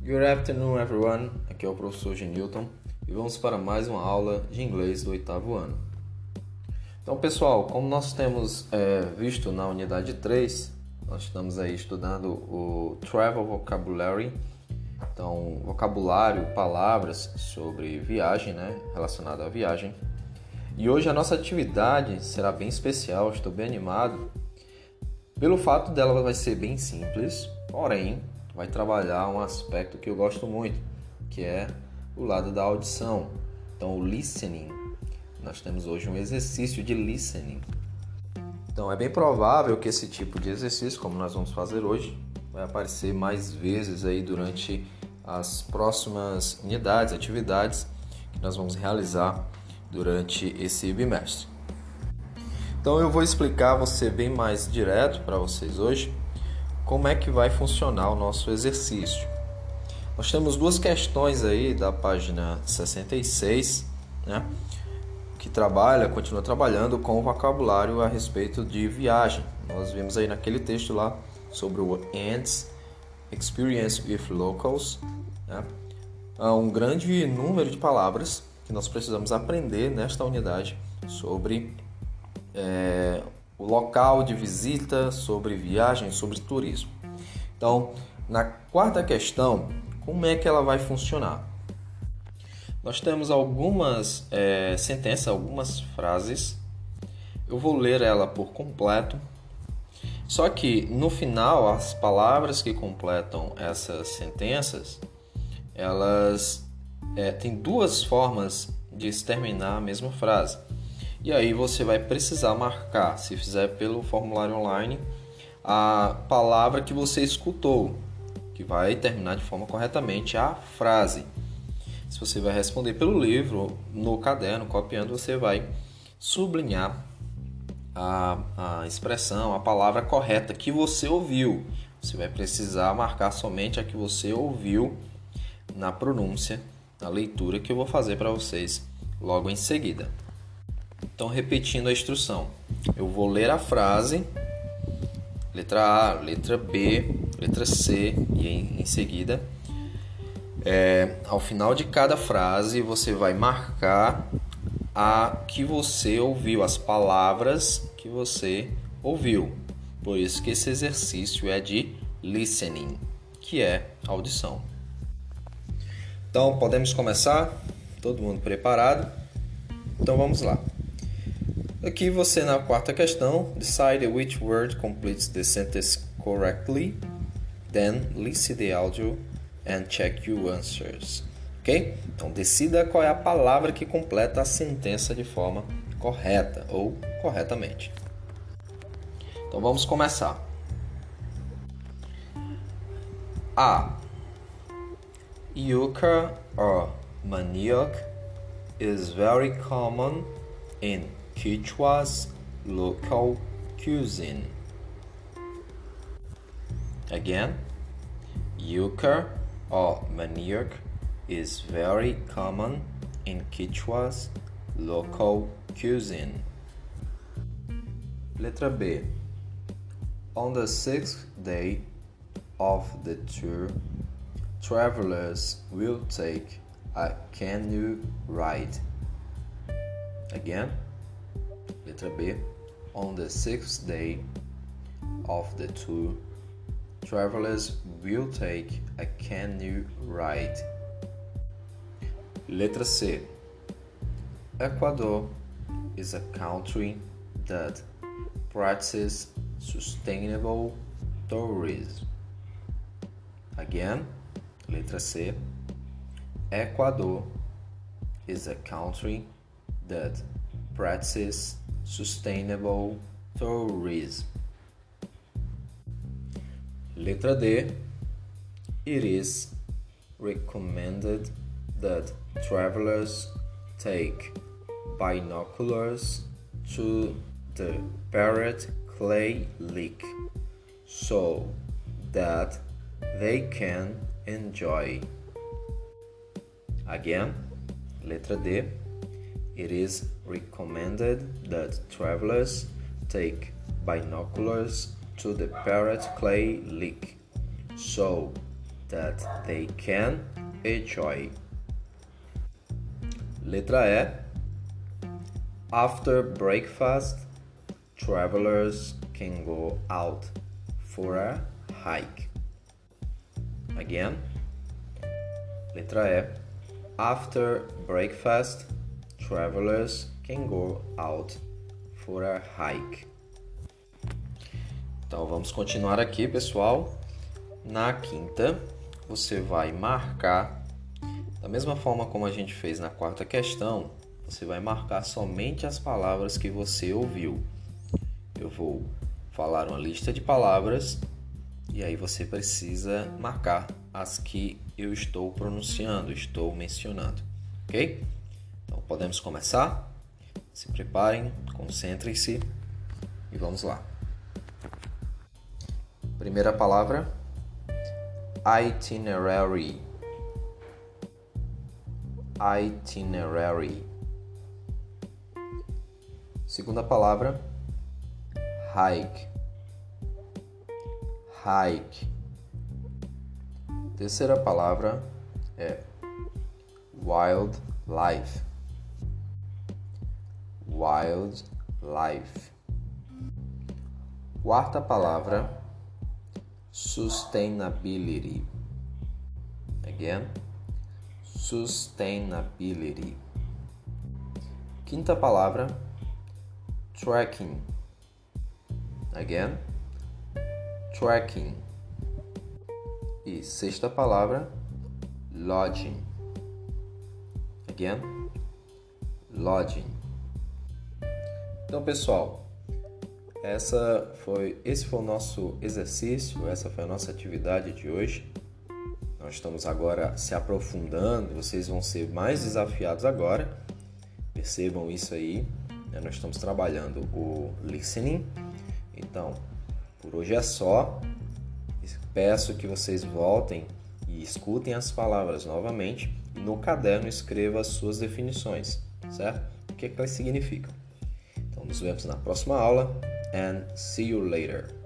Good afternoon, everyone. Aqui é o professor Genilton e vamos para mais uma aula de inglês do 8º ano. Então, pessoal, como nós temos visto na unidade 3, nós estamos aí estudando o Travel Vocabulary. Então, vocabulário, palavras sobre viagem, relacionado à viagem. E hoje a nossa atividade será bem especial, estou bem animado. Pelo fato dela vai ser bem simples, porém vai trabalhar um aspecto que eu gosto muito, que é o lado da audição. Então, o listening. Nós temos hoje um exercício de listening. Então, é bem provável que esse tipo de exercício, como nós vamos fazer hoje, vai aparecer mais vezes aí durante as próximas unidades, atividades que nós vamos realizar durante esse bimestre. Então, eu vou explicar, vou ser bem mais direto para vocês hoje, como é que vai funcionar o nosso exercício. Nós temos duas questões aí da página 66, que continua trabalhando com o vocabulário a respeito de viagem. Nós vimos aí naquele texto lá sobre o ANDS, Experience with Locals. Há um grande número de palavras que nós precisamos aprender nesta unidade sobre o local de visita, sobre viagem, sobre turismo. Então, na quarta questão, como é que ela vai funcionar? Nós temos algumas sentenças, algumas frases. Eu vou ler ela por completo. Só que, no final, as palavras que completam essas sentenças, elas têm duas formas de terminar a mesma frase. E aí você vai precisar marcar, se fizer pelo formulário online, a palavra que você escutou, que vai terminar de forma corretamente a frase. Se você vai responder pelo livro, no caderno, copiando, você vai sublinhar a expressão, a palavra correta que você ouviu. Você vai precisar marcar somente a que você ouviu na pronúncia, na leitura que eu vou fazer para vocês logo em seguida. Então, repetindo a instrução, eu vou ler a frase, letra A, letra B, letra C, e em seguida, ao final de cada frase, você vai marcar a que você ouviu, as palavras que você ouviu. Por isso que esse exercício é de listening, que é audição. Então, podemos começar? Todo mundo preparado? Então, vamos lá. Aqui você, na quarta questão, decide which word completes the sentence correctly, then listen the audio and check your answers. Ok? Então, decida qual é a palavra que completa a sentença de forma correta ou corretamente. Então, vamos começar. A. Yuca or manioc is very common in Quechua's local cuisine. Again, yuca or manioc is very common in Quechua's local cuisine. Letra B. On the 6th day of the tour, travelers will take a canoe ride. Again, letra B. On the 6th day of the tour, travelers will take a canoe ride. Letra C. Ecuador is a country that practices sustainable tourism. Again, letra C. Ecuador is a country that practices sustainable tourism. Letra D. It is recommended that travelers take binoculars to the Parrot Clay Lake so that they can enjoy. Again, letra D. It is recommended that travelers take binoculars to the Parrot Clay Lake so that they can enjoy. Letra E. After breakfast, travelers can go out for a hike. Again. Letra E. After breakfast, travelers can go out for a hike. Então vamos continuar aqui, pessoal. Na quinta, você vai marcar, da mesma forma como a gente fez na quarta questão, você vai marcar somente as palavras que você ouviu. Eu vou falar uma lista de palavras e aí você precisa marcar as que eu estou pronunciando, estou mencionando, ok? Então podemos começar? Se preparem, concentrem-se e vamos lá. Primeira palavra, itinerary. Itinerary. Segunda palavra, hike. Hike. Terceira palavra é wildlife. Wildlife. Quarta palavra, sustainability. Again, sustainability. Quinta palavra, trekking. Again, trekking. E sexta palavra, lodging. Again, lodging. Então, pessoal, esse foi o nosso exercício, essa foi a nossa atividade de hoje. Nós estamos agora se aprofundando, vocês vão ser mais desafiados agora. Percebam isso aí, né? Nós estamos trabalhando o listening. Então, por hoje é só. Peço que vocês voltem e escutem as palavras novamente e no caderno escreva as suas definições, certo? O que elas significam. Então, nos vemos na próxima aula and see you later.